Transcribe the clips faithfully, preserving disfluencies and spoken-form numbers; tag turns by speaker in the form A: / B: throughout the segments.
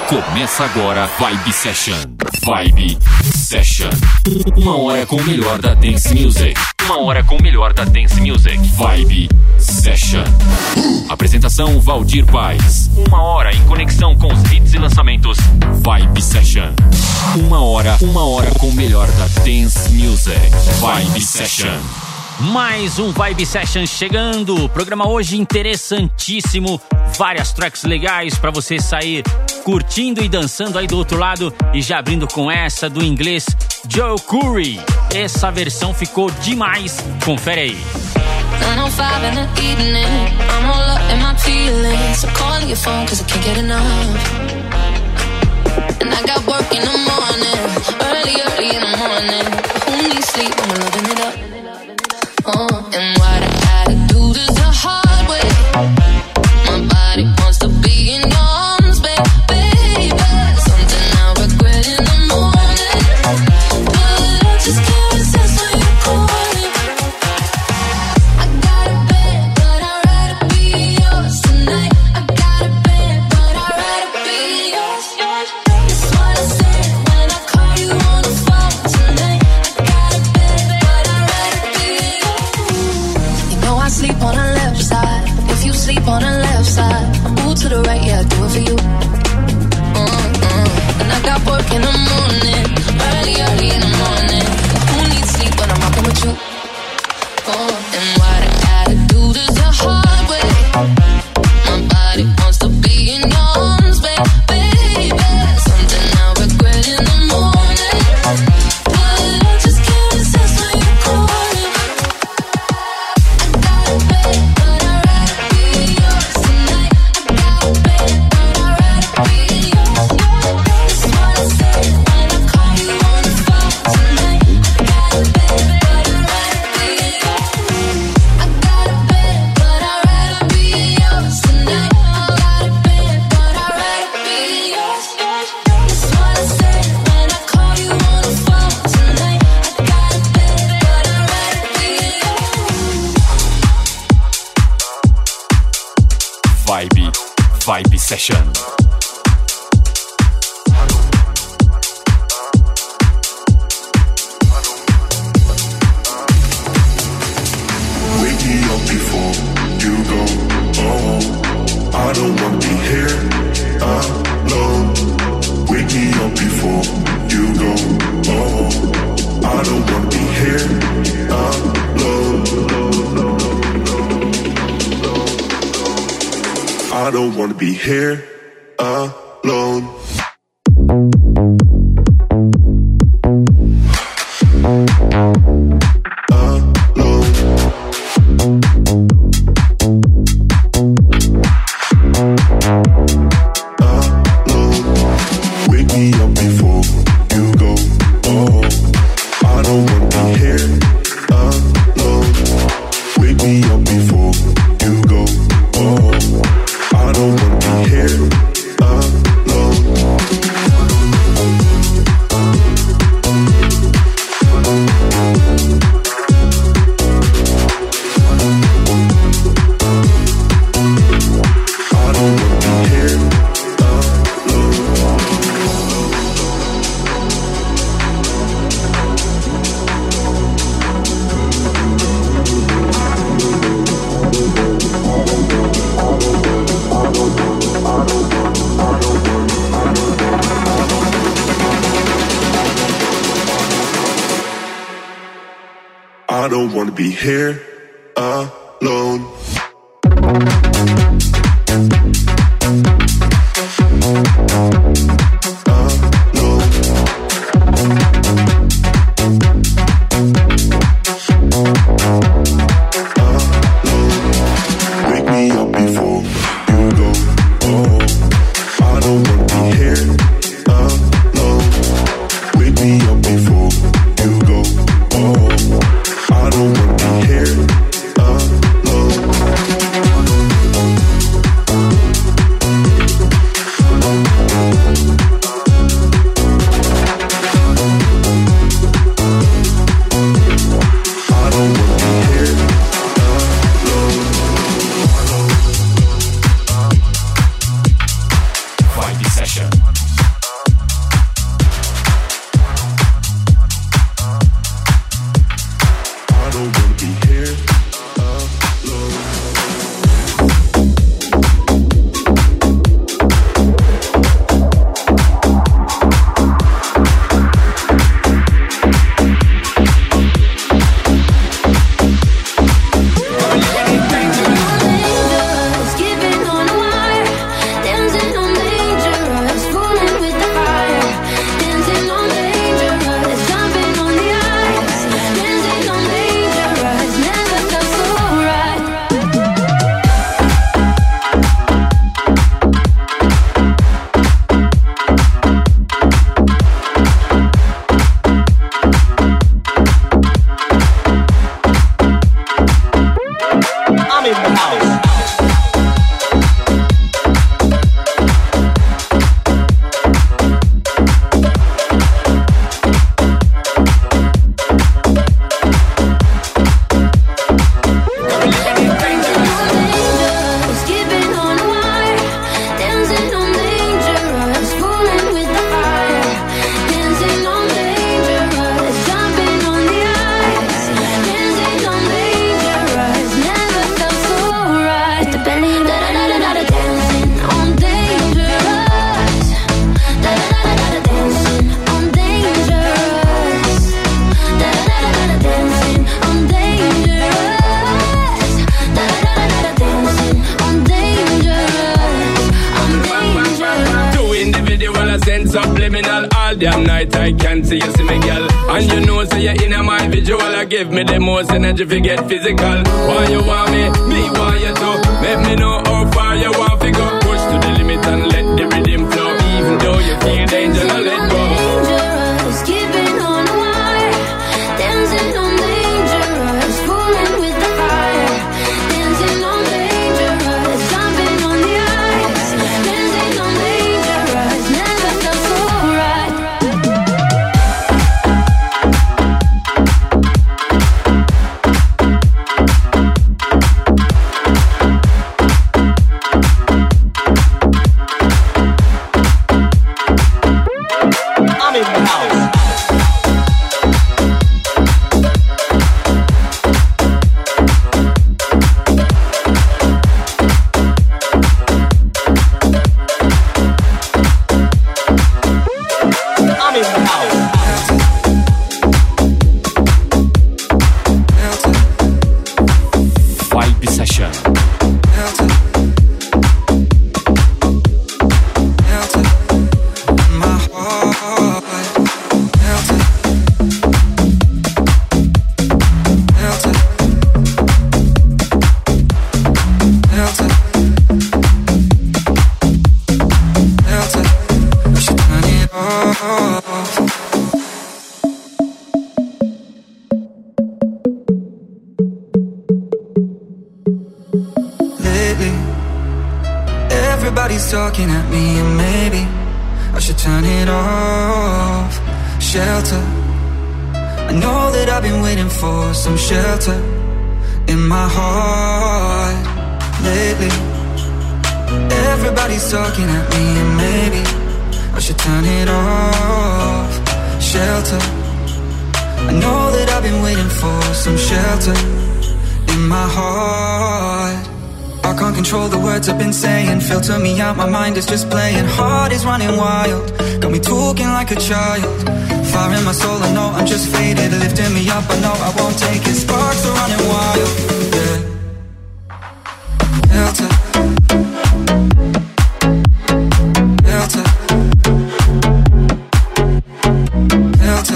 A: Começa agora Vibe Session. Vibe Session. Uma hora com o melhor da Dance Music. Uma hora com o melhor da Dance Music. Vibe Session. Apresentação Valdir Paz. Uma hora em conexão com os hits e lançamentos. Vibe Session. Uma hora, uma hora com o melhor da Dance Music. Vibe Session.
B: Mais um Vibe Session chegando. Programa hoje interessantíssimo. Várias tracks legais pra você sair curtindo e dançando aí do outro lado. E já abrindo com essa do inglês Joel Corry. Essa versão ficou demais. Confere aí.
C: nine oh five in the evening, I'm all up in my feelings. I'm calling your phone cause I can't get enough. And I got work in the morning, early, early in the morning. Who needs sleep when we're loving it up? Oh, and what I gotta do this the hard way. My body wants to be in your arms, baby. Something I regret in the morning, but I just can't resist when you call me. I got a bed, but I'd rather be yours tonight. I got a bed, but I'd rather be yours. That's what I said when I call you on the phone tonight. I got a bed, but I'd rather be yours. You know I sleep on the left side. If you sleep on the left side, I move to the right, yeah, I do it for you. Mm-hmm. And I got work in the morning, early, early in the morning. Who needs sleep when I'm rocking with you? Oh, and what I gotta do this the hard way. My body wants to be in your arms, baby. Something I regret in the morning, but I just can't resist when you call me. I got a bed, but I'd rather be yours tonight. I got a bed, but I'd rather be yours. That's what I said when I call you on the phone tonight. I got a bed, but I'd rather be yours. I got a bed, but I'd rather be yours tonight. I got a bed, but I'd rather be yours. That's what I said when I call you on the phone tonight. I got a bed, but I'd rather be yours.
A: Vibe, Vibe Session.
D: Wake me up before you go. Oh, I don't want to be here alone. Wake me up before you go. Oh, I don't want to be here alone. I don't want to be here alone. I don't want to be here alone.
C: I don't wanna be here alone.
E: a send subliminal. All damn night I can't see you see me, girl. And you know, say you're in my visual. I give me the most energy to get physical. Why you want me? Me want you to. Let me know how far you want to go. Push to the limit and let the rhythm flow. Even though you feel danger, now let go.
C: Dangerous, keeping on the wire. Dancing on dangerous, fooling with the fire. Dancing on dangerous, jumping on the ice. Dancing on dangerous, never felt so right.
B: I'm in the house. I'm in the house.
A: Vibe Session.
F: Lately, everybody's talking at me, and maybe I should turn it off. Shelter, I know that I've been waiting for some shelter in my heart. Lately, everybody's talking at me, and maybe I should turn it off. Shelter, I know that I've been waiting for some shelter in my heart. I can't control the words I've been saying. Filter me out, my mind is just playing. Heart is running wild, got me talking like a child. Fire in my soul, I know I'm just faded. Lifting me up, I know I won't take it. Sparks are running wild, yeah. Shelter, shelter, shelter,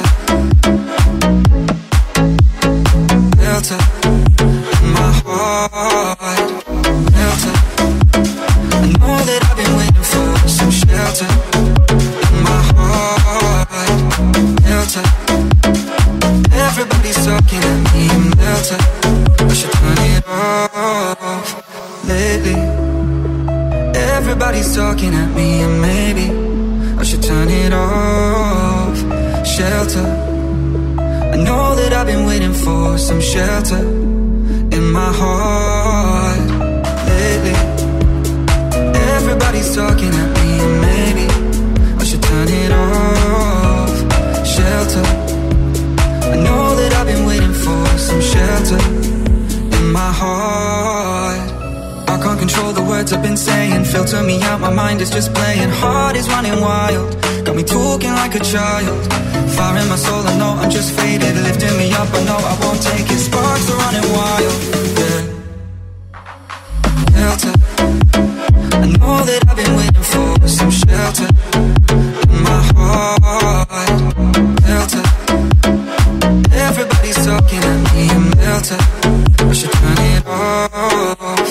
F: shelter in my heart. Shelter, I know that I've been waiting for some shelter in my heart. Shelter, everybody's talking at me. Shelter, I should turn it off. Lately, everybody's talking at me, and maybe I should turn it off. Shelter, I know that I've been waiting for some shelter in my heart. Lately, everybody's talking at me, and maybe I should turn it off. Shelter, I know that I've been waiting for some shelter in my heart. I can't control the words I've been saying. Filter me out, my mind is just playing. Heart is running wild, got me talking like a child. Fire in my soul, I know I'm just faded. Lifting me up, I know I won't take it. Sparks are running wild, yeah. Shelter, I know that I've been waiting for some shelter in my heart. Shelter, everybody's talking at me. Shelter, I should turn it off.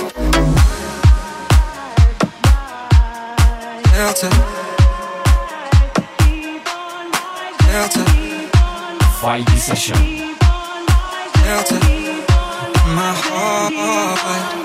F: Shelter, shelter,
A: Vibe Session.
F: shelter in my heart.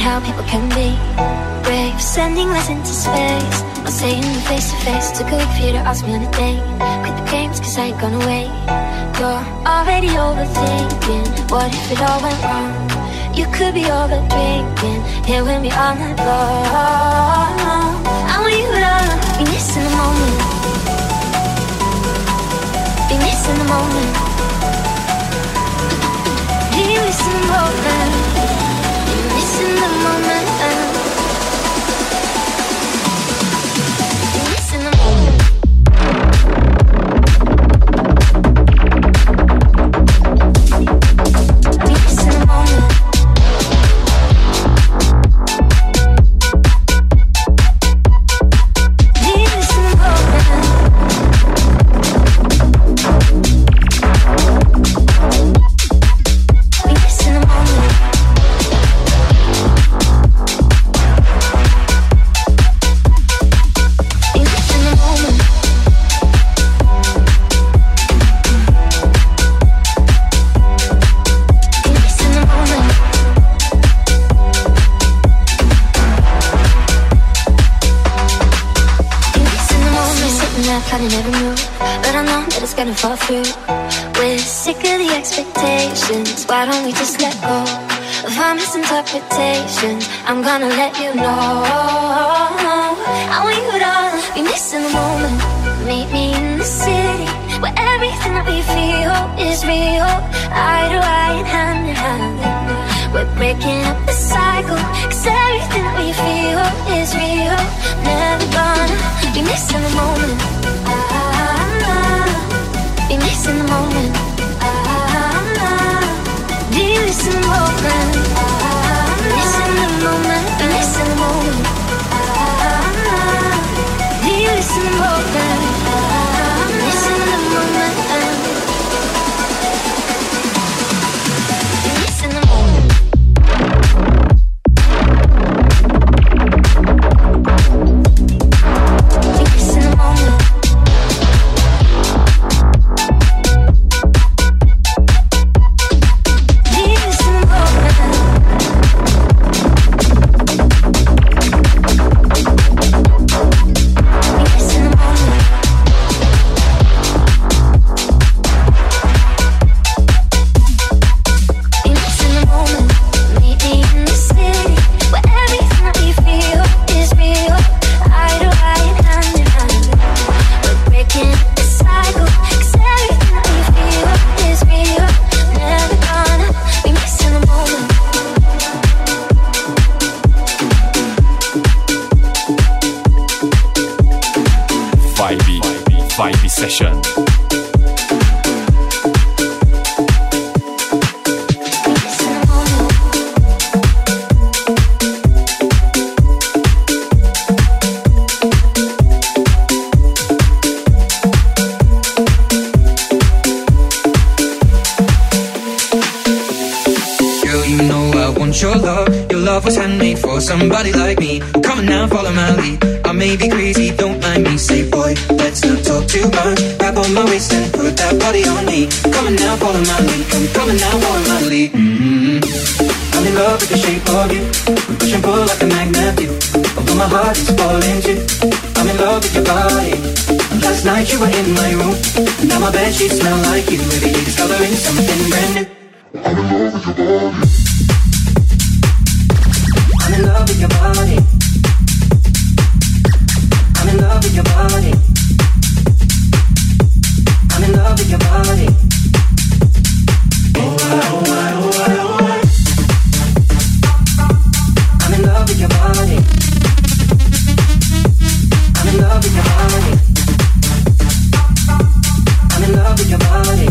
G: how people can be brave, sending us into space. I'll say in face to face, too good for you to ask me on a date. Quit the games cause I ain't gonna wait. You're already overthinking, what if it all went wrong? You could be over drinking, here with me all night long. I want you to be missing the moment, be missing the moment, be missing the moment, be missing the moment, be missing the moment. Fall through. We're sick of the expectations. Why don't we just let go of our misinterpretations? I'm gonna let you know I want you to be missing the moment. Meet me in the city where everything that we feel is real. Eye to eye and hand in hand. We're breaking up the cycle, cause everything that we feel is real. Never gonna be missing the moment. Be missing the moment. Be missing the moment. Missing the moment. Be missing the moment. Be missing the moment. Missing the moment. Be missing the moment. Be missing the moment.
A: Vibe Session.
F: Your love, your love was handmade for somebody like me. Come on now, follow my lead. I may be crazy, don't mind me. Say boy, let's not talk too much. Grab on my waist and put that body on me. Come on now, follow my lead. Come, come on now, follow my lead. Mm-hmm. I'm in love with the shape of you. We push and pull like a magnet do. Although my heart is falling too. I'm in love with your body. Last night you were in my room. Now my bed sheets smell like you. Every day discovering something brand new. I'm in love with your body. I'm in love with your body. I'm in love with your body. I'm in love with your body. Oh, I, oh, I, oh, I, oh, I. I'm in love with your body. I'm in love with your body. I'm in love with your body.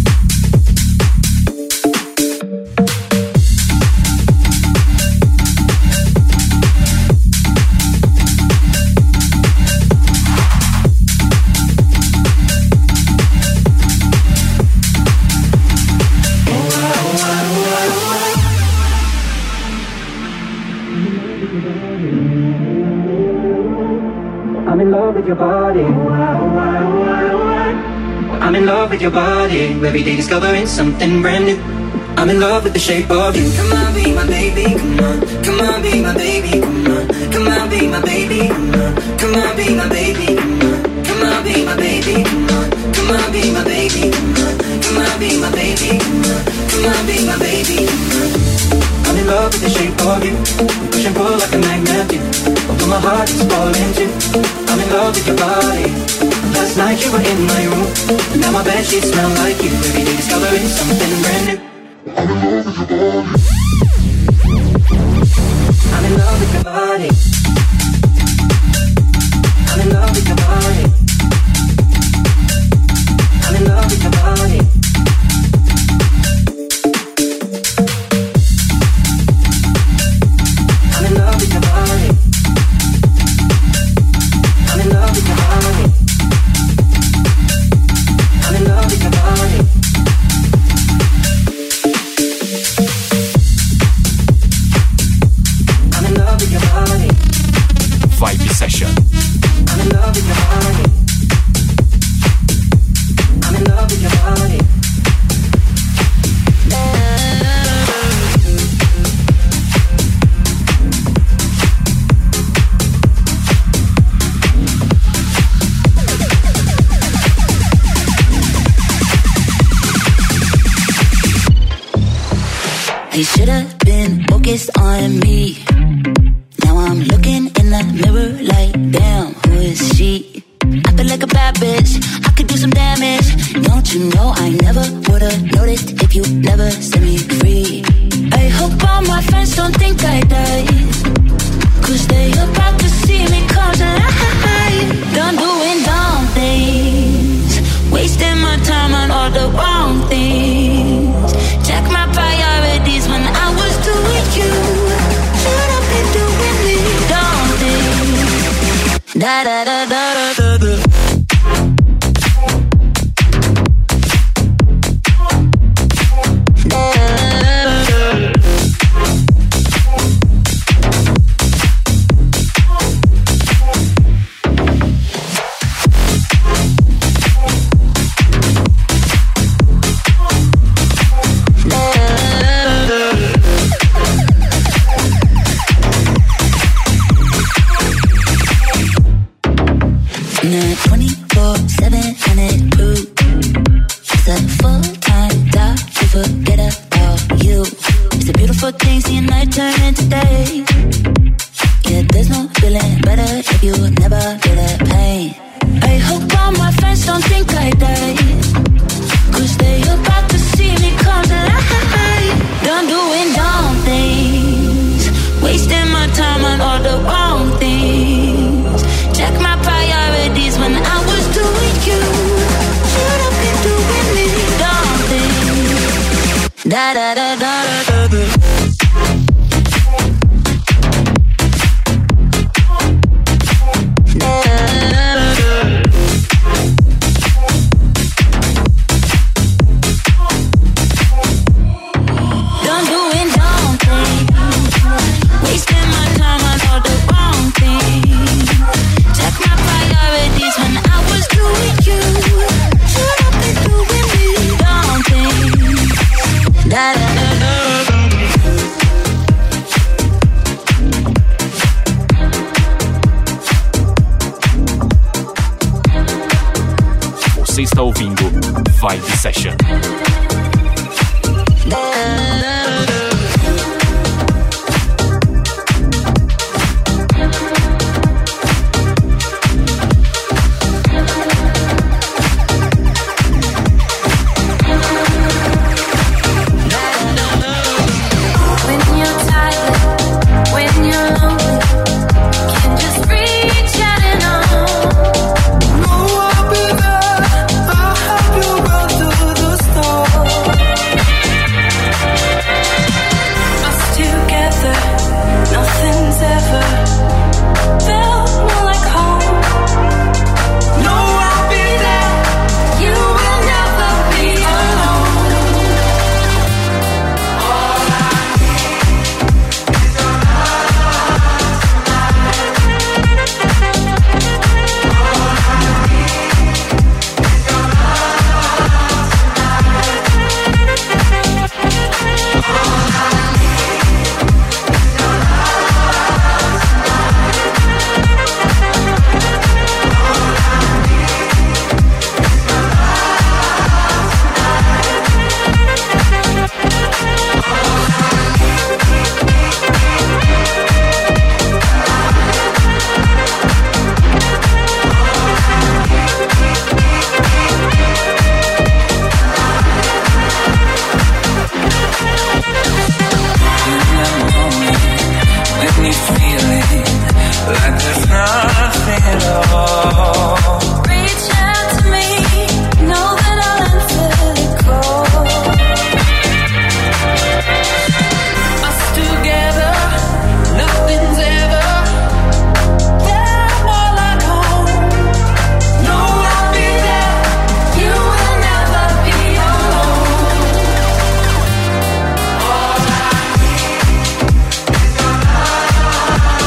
F: I'm in love with your body. I'm in love with your body. Every day discovering something brand new. I'm in love with the shape of you. Come on, be my baby, come on. Come on, be my baby, come on. Come on, be my baby, come on. Come on, be my baby, come on. Come on, be my baby, come on. Come on, be my baby, come on. Come on, be my baby, come on. Come on, be my baby, come on. I'm in love with the shape of you. Push and pull like a magnet do. Although my heart is falling too. I'm in love with your body. Last night you were in my room. Now my bedsheets smell like you. Every day discovering something brand new. I'm in love with your body. I'm in love with your body. I'm in love with your body. I'm in love with your body. I'm in love with your body. I'm in love with your body. I'm in love with your body. I'm in love with your body.
A: Vibe Session.
F: I'm in love with your body. I'm in love with your body.
H: I should've been focused on me. Now I'm looking in the mirror like, damn, who is she? I feel like a bad bitch, I could do some damage. Don't you know I never would've noticed if you never set me free. I hope all my friends don't think I died, cause they about to see me come to life. Done doing dumb things, wasting my time on all the wrong things. Check my priorities when I was doing you. Should've been doing me, dumb things. Da da da da da da. twenty-four seven and it proves it's a full-time job to forget about you. It's a beautiful thing seeing night turn into day. Yeah, there's no feeling better if you never feel that pain. I hope all my friends don't think I died, cause they about to see me come to life. Done doing dumb things, wasting my time on all the wrong things. Check my priorities when I was doing you. Should've been doing me, dumb things. Da da da da da da.
A: Você está ouvindo Vibe Session.
C: Know I'll be there. I'll help you run through the storm.
F: me feeling like there's nothing at all.
C: Reach out to me, know that I'll answer the call. Us together, nothing's ever that more like home. No, I'll be there. You will never be alone. All I need is your love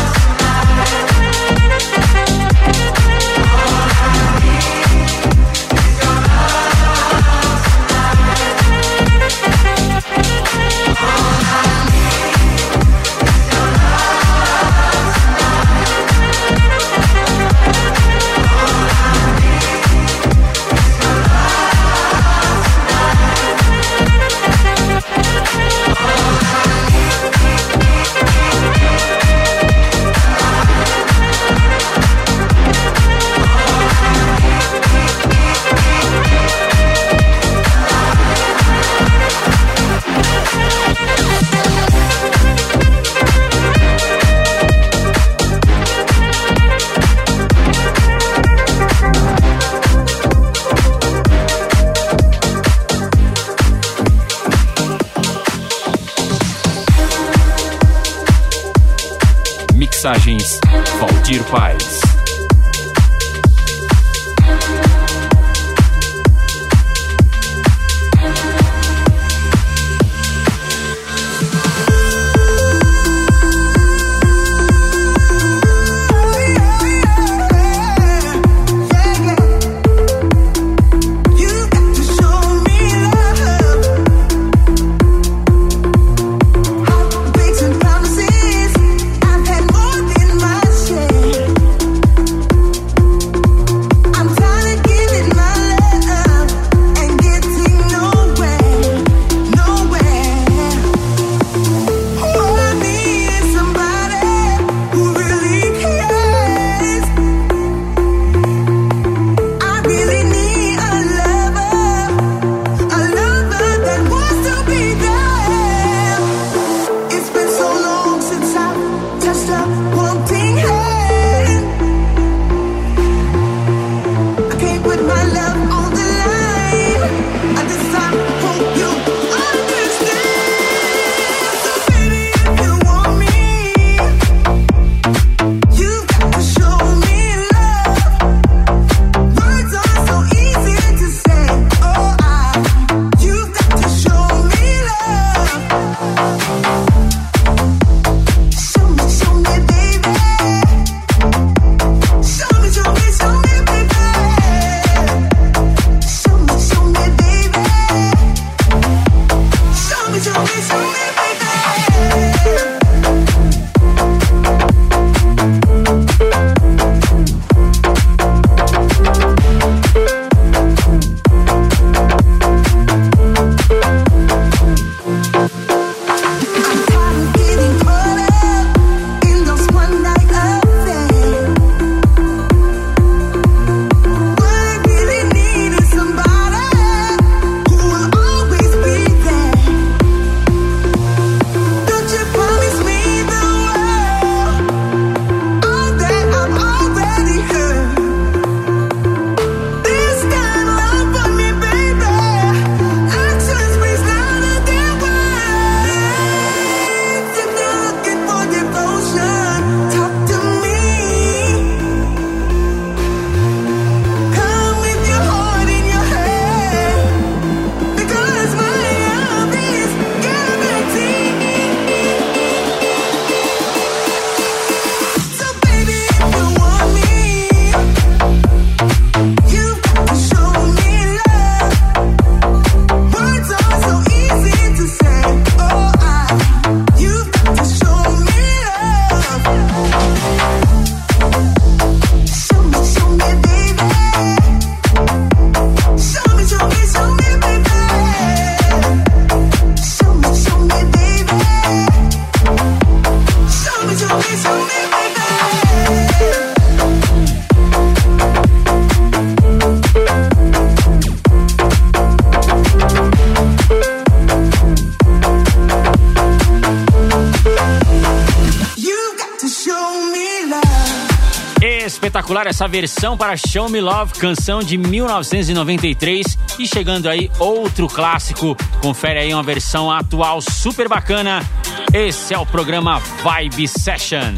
A: Mixagens Valdir Paz.
I: You got
B: Espetacular essa versão para Show Me Love, canção de mil novecentos e noventa e três. E chegando aí outro clássico, confere aí uma versão atual super bacana. Esse é o programa Vibe Session.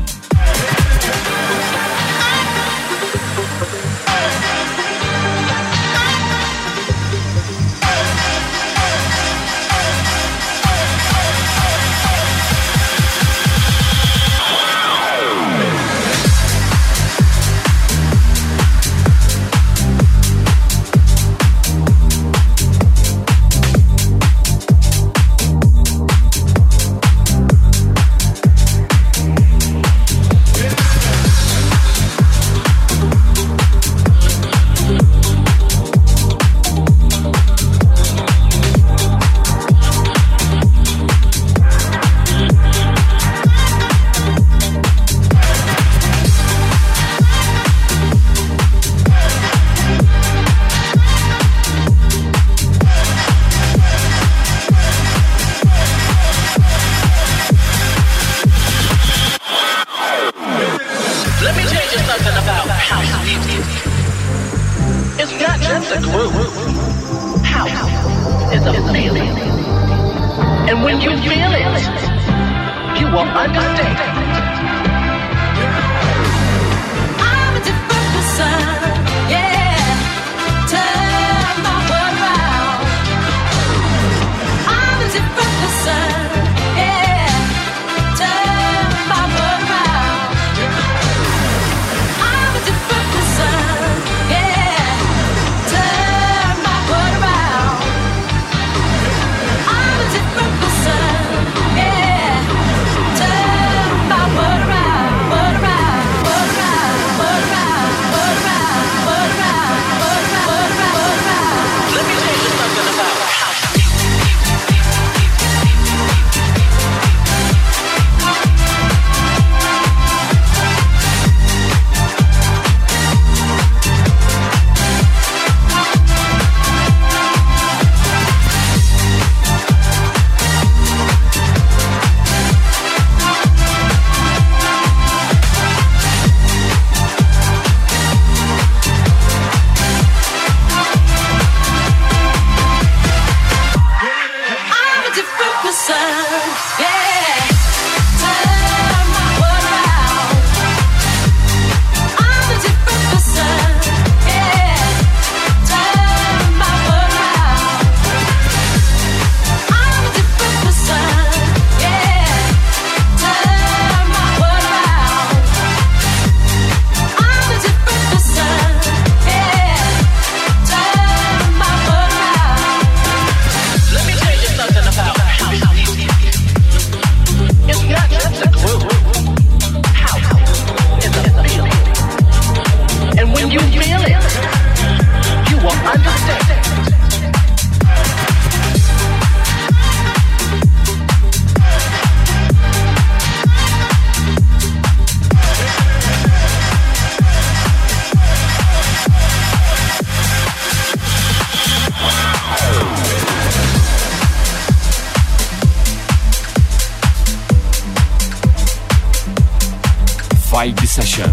A: Vibe Session.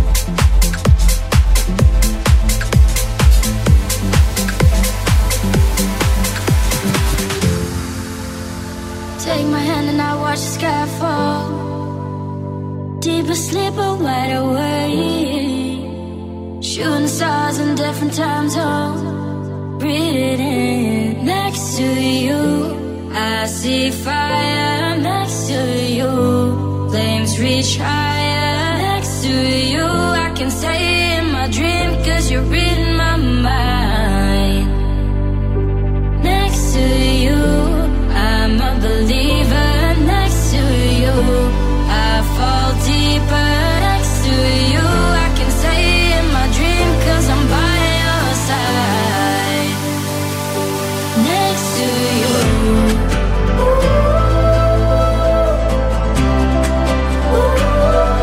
G: Take my hand and I watch the sky fall. Deep asleep or wide awake. Shooting stars in different time zones. Breathe it in. Next to you, I see fire. Next to you, flames reach higher. Next to you, I can stay in my dream, cause you're reading my mind. Next to you, I'm a believer. Next to you, I fall deeper. Next to you, I can stay in my dream, cause I'm by your side. Next to you. Ooh. Ooh.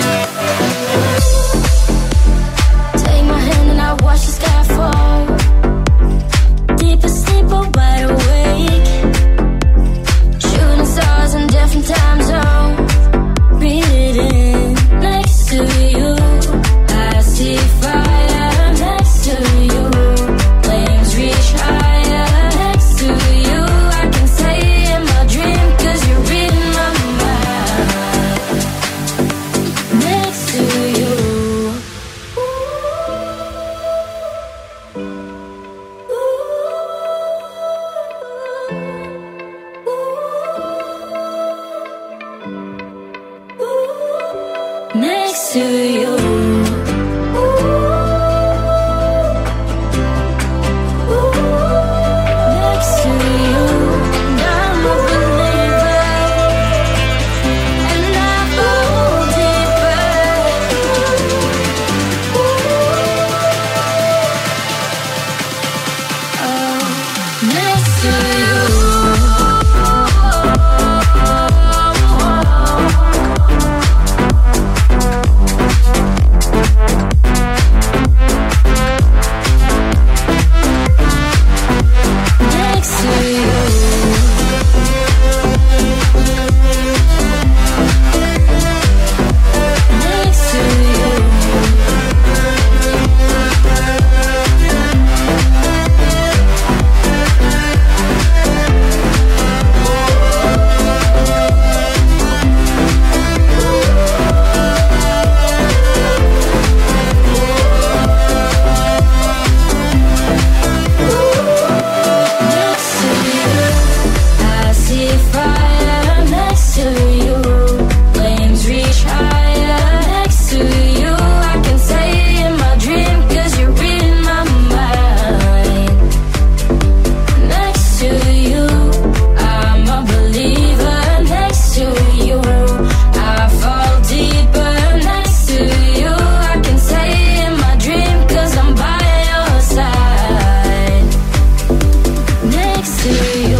G: Take my hand and I watch the sky fall. Deep asleep or wide awake. Shooting stars in different time zones. Breathe it in next to you. I see fire next to you. Flames reach higher next to you. I can say in my dream 'cause you're reading my mind. Next to you. Next to you. Next to you. And I'm a believer. And I fall deeper. Oh, next to you. Next to you. Next to you. Next to you, I see fire next to you. Flames reach higher next to you. I can say in my dream 'cause you're reading my mind. Next to you, I'm a believer. Next to you, I fall deeper. Next to you, I can say in my dream 'cause I'm by your side. Next to you.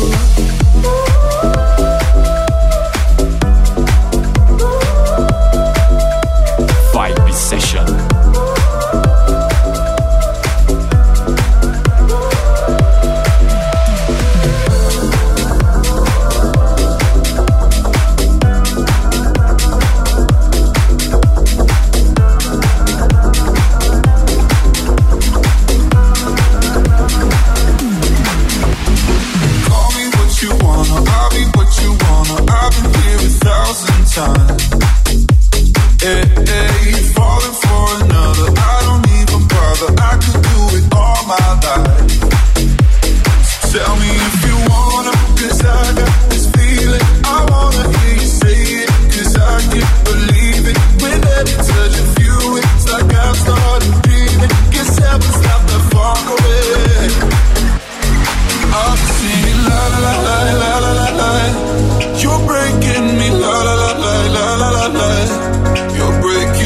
A: Vibe Session.
D: Call me what you wanna, I'll be what you wanna. I've been here a thousand times. Hey, hey, falling for another. I don't even bother. I could do it all my life. So tell me if you wanna, 'cause I got this feeling. I wanna hear you say it, 'cause I can't believe it. With every touch of you, it's like I've started dreaming. Guess heaven's not that far away. I'm singing la la la la la la la la. You're breaking me la la la la la la la la. You're breaking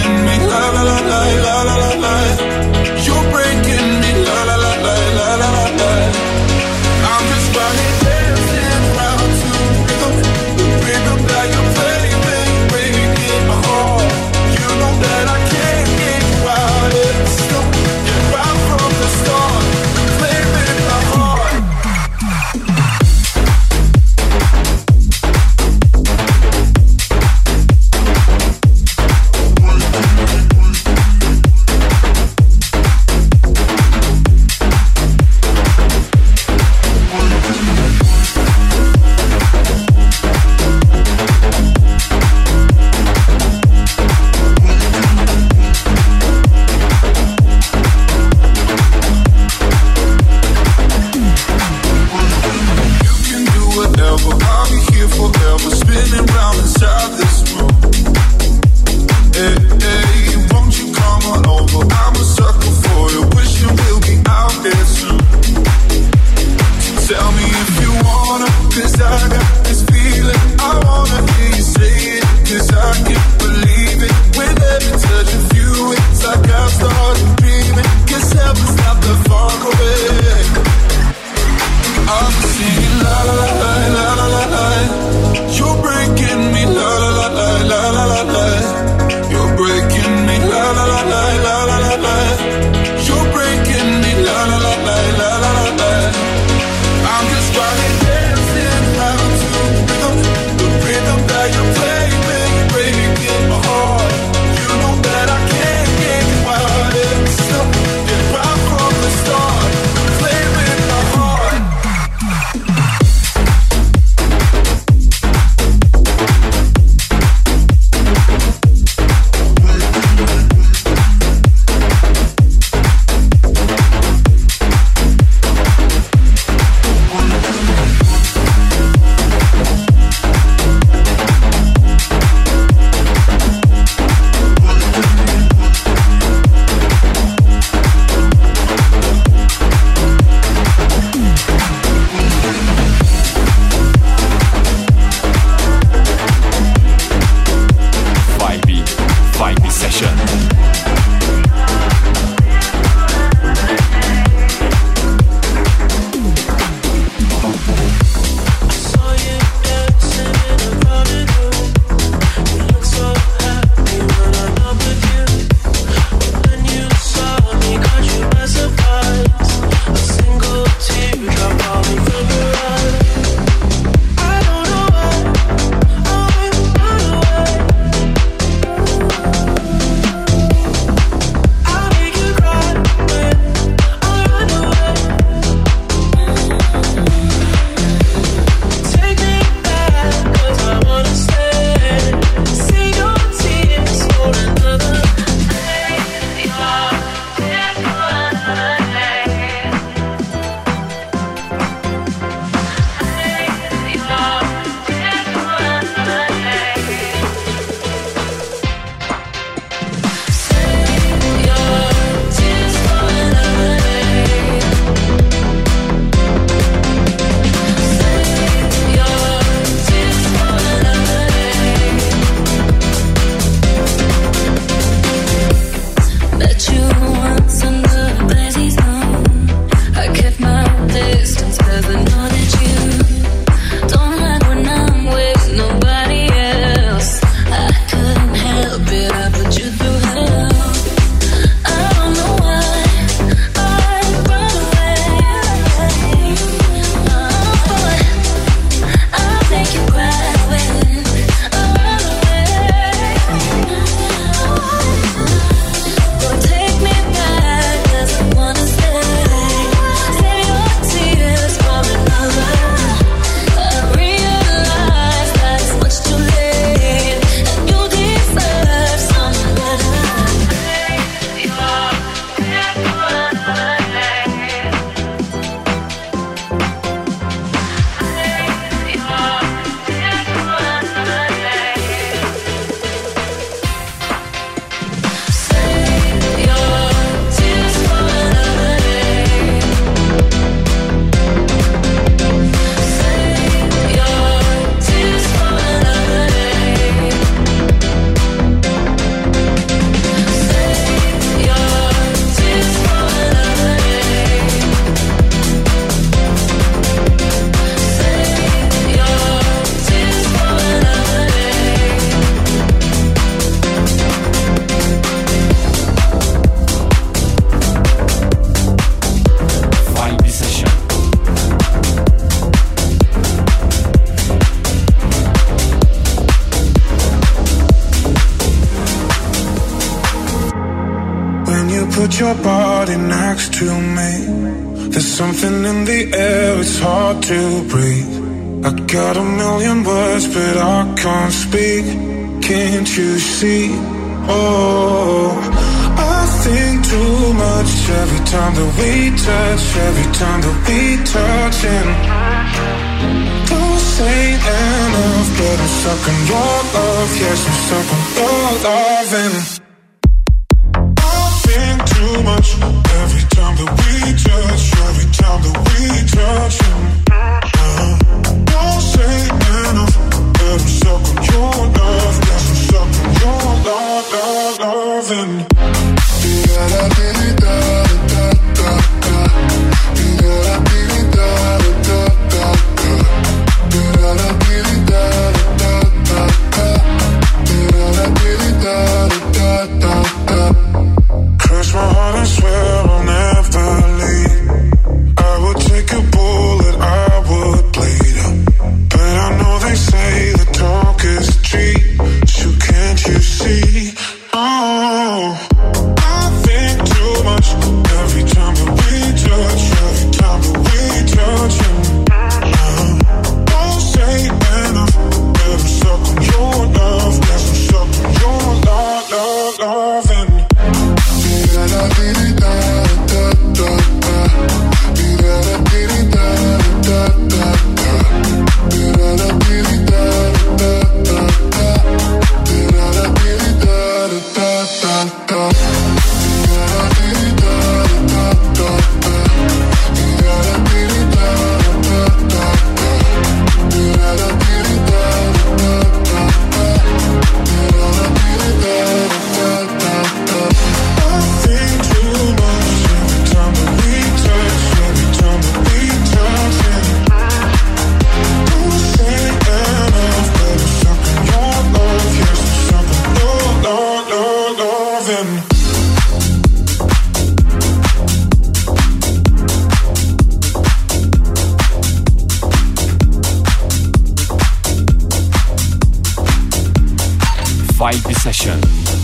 A: Session.
I: Put your body next to me. There's something in the air, it's hard to breathe. I got a million words, but I can't speak. Can't you see? Oh, I think too much every time that we touch, every time that we touch. And don't say enough, but I'm stuck on your love. Yes, I'm stuck on your love. And too much every time that we touch, every time that we touch. Uh, don't say enough, but I'm stuck on your love. Yes, I'm stuck on your love, love, love. And da da da da da da da, da da da da da da, da da da da da da. Cross my heart and swear I'll never leave. I would take a bullet, I would bleed. But I know they say the talk is cheap. So can't you see? Oh, I think too loving.
A: Vibe Session.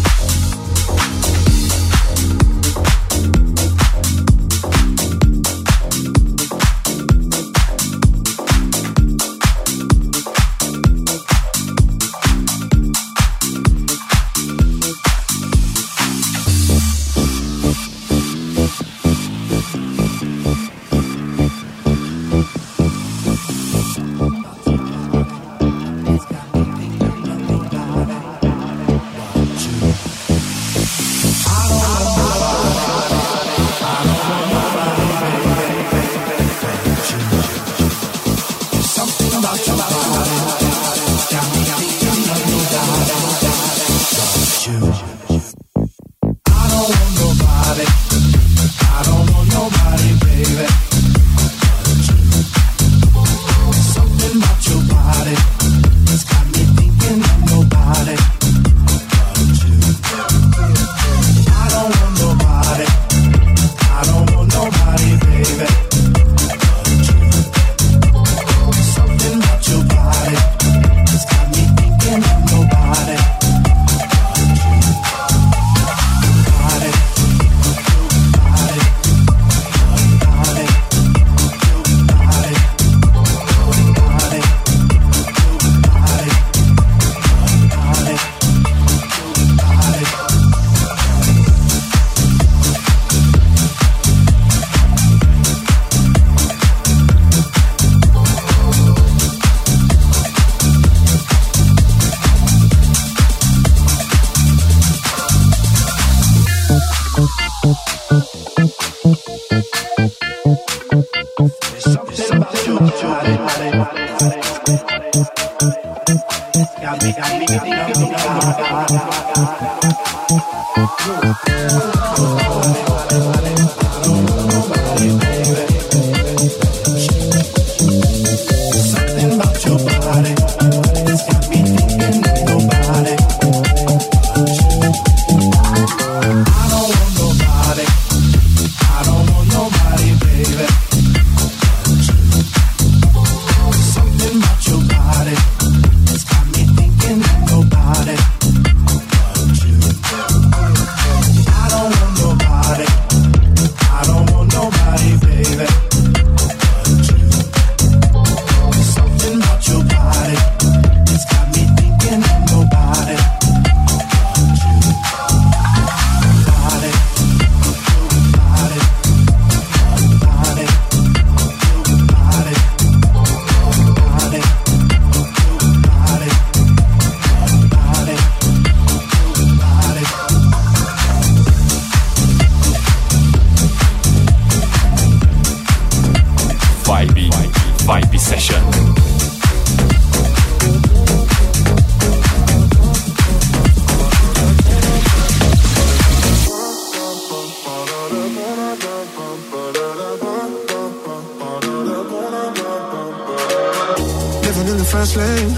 I: fast lane.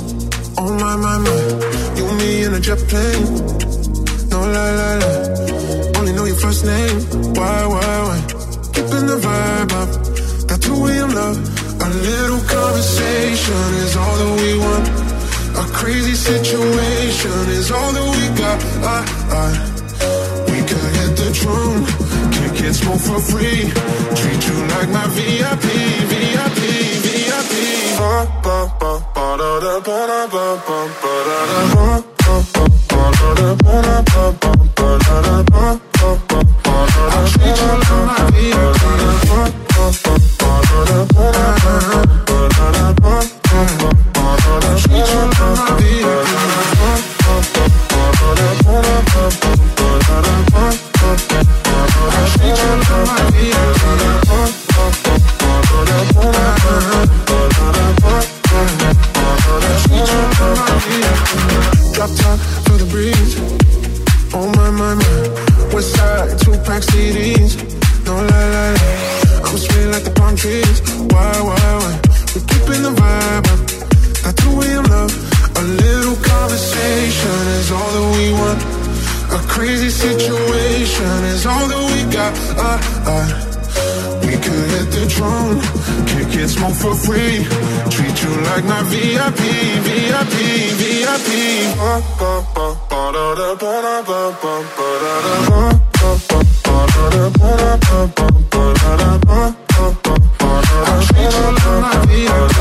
I: Oh my, my, my. You and me in a jet plane. No lie, lie, lie. Only know your first name. Why, why, why? Keeping the vibe up. That's who we in love. A little conversation is all that we want. A crazy situation is all that we got. I, I, we could hit the trunk, kick it, smoke for free. Treat you like my V I P, V I P, V I P. Ba ba ba ba da da ba da ba ba ba da da ba ba ba ba da da ba da ba ba ba da da ba ba ba ba da da. Treat you like my V I P. Ba ba ba ba da da ba da ba ba da da ba ba ba ba da da. Treat you like my V I P. Ba ba ba ba da da ba da ba ba ba da da ba ba ba ba da da. Treat you like my V I P. Ba ba ba ba da da ba da ba ba da da ba ba ba da da. Treat you like my V I P. Drop top for the breeze. Oh my, my, my. West side, two pack C Ds. No lie, lie, lie. I'm sweet like the palm trees. Why, why, why? We're keeping the vibe up. That's who we in love. A little conversation is all that we want. A A crazy situation is all that we got. Uh, uh. We could hit the drum, kick it, smoke for free. Treat you like my V I P, V I P, V I P. I'll treat you like my V I P.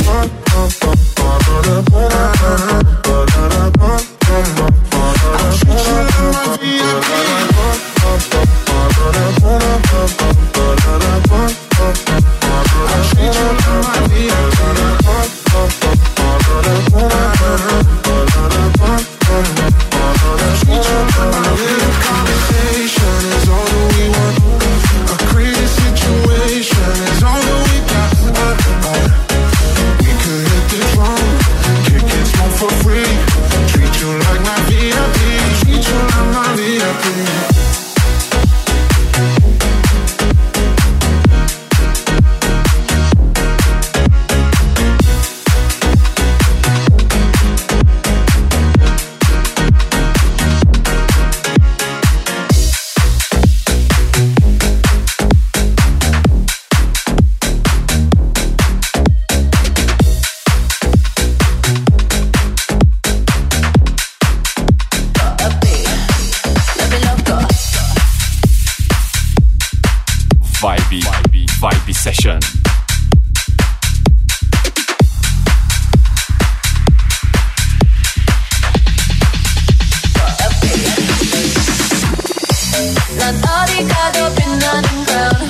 A: Session.
C: 난 어디 가도 빛나는 crown.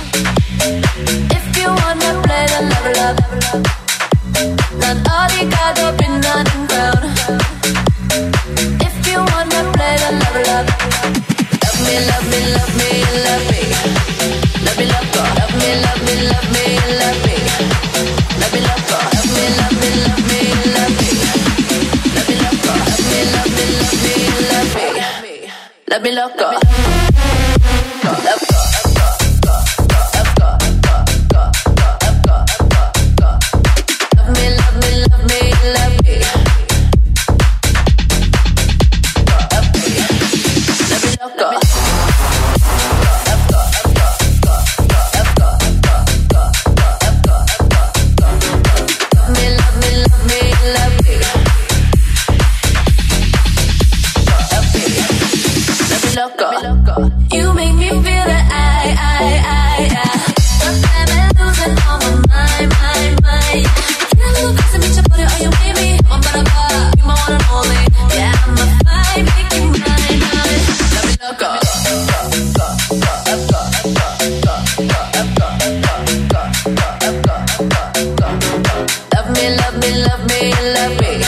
C: If you wanna play the level up. 난 어디 가도 빛나는 crown. If you wanna play the level up. Love me, love me, love me, love me. Love me, love God. Love me, love me, love me, love me. Love me, love God. Love me, love me, love me, love me. Love me, love God. Love me, love me, love me, love me. Love me, love God. Love God. You make me feel that I, I, I, I sometimes I'm losing all my mind, mind, mind. Feel a little crazy, 미쳐버려, are you with me? I'm gonna buy, you my one and only. Yeah, I'm a fight, make you mine, mine. Let me look up. Love me, love me, love me, love me.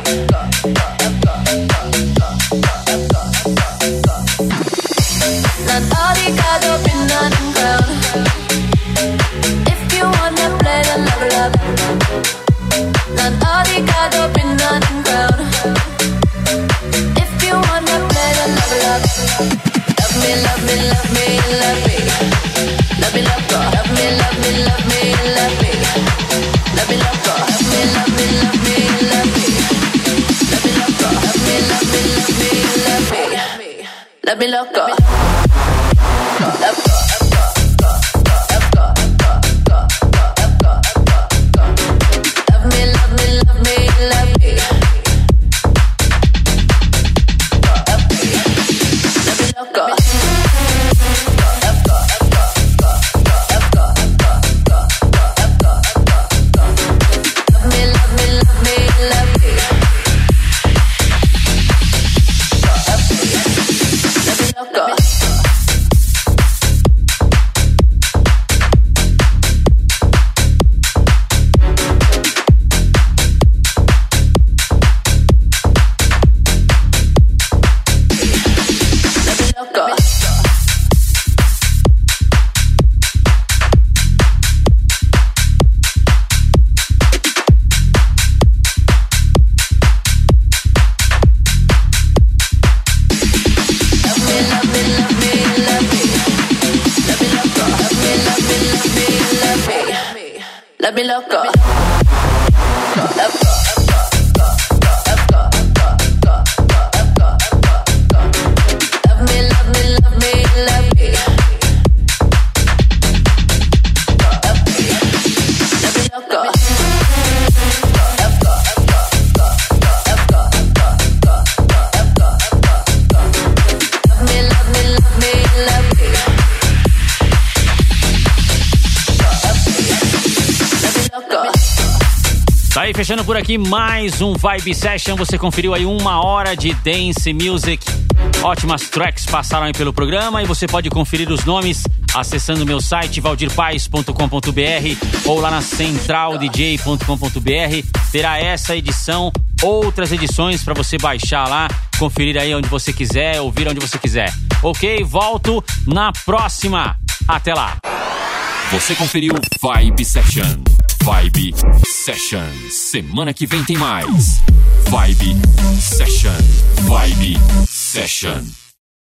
C: 난 어디 가도 빛나는 crown. If you wanna play the level up. 난 어디 가도 빛나는 crown. If you wanna play the level up. Love me, love me, love me, love me. Love me, love God. Love me, love me, love me, love me. Love me, love God. Love me, love me, love me, love me. Love me, love God. Love me, love me, love me, love me. Love me, love God. Let me look up.
B: aí, fechando por aqui mais um Vibe Session. Você conferiu aí uma hora de dance music. Ótimas tracks passaram aí pelo programa e você pode conferir os nomes acessando meu site valdir paes ponto com ponto b r ou lá na central d j ponto com ponto b r. Terá essa edição, outras edições para você baixar lá, conferir aí onde você quiser, ouvir onde você quiser. Ok? Volto na próxima. Até lá.
A: Você conferiu Vibe Session. Vibe Session. Semana que vem tem mais. Vibe Session. Vibe Session.